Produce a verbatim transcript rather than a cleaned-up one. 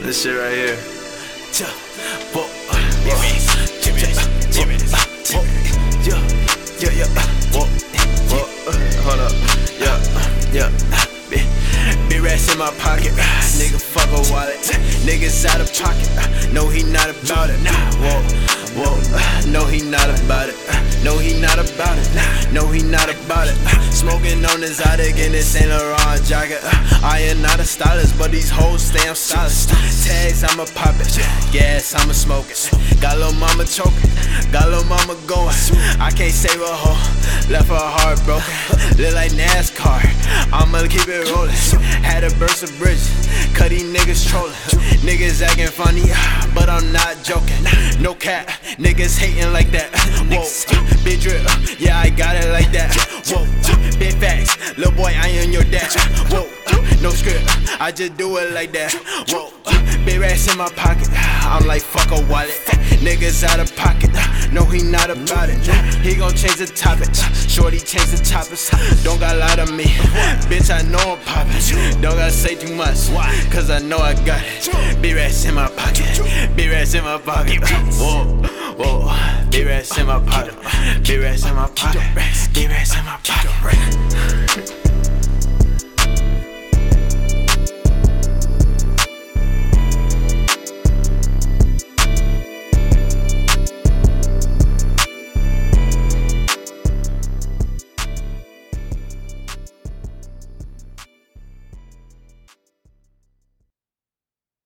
This shit right here. Yeah, yeah, whoa, whoa, hold up, yeah, yeah. Big rats in my pocket, nigga fuck a wallet. Niggas out of pocket, no he not about it. Whoa, whoa, no he not about it. No he not about it, no he not about it. Smoking on his Zydeco in this Saint Laurent jacket. I am not a stylist, but these hoes stay on stylist. Tags, I'ma pop it, gas, I'ma smoke it. Got lil' mama choking, got lil' mama going. I can't save a hoe, left her heart broken. Look like NASCAR, I'ma keep it rolling. Had to burst a bridge, cut these niggas trolling. Niggas acting funny, but I'm not joking. No cap, niggas hating like that. Whoa, big drip, yeah I got it like that. Whoa, big facts, lil' boy I am your dad. Whoa, no script, I just do it like that. Whoa, big rats in my pocket, I'm like fuck a wallet. Niggas out of pocket, no he not about it. He gon' change the topic, shorty change the topics. Don't got lie to me, bitch I know I'm poppin'. Don't gotta say too much, cause I know I got it. Big rats in my pocket, big rats in my pocket. Whoa, whoa, big rats in my pocket, big rats in my pocket, big rats in my pocket.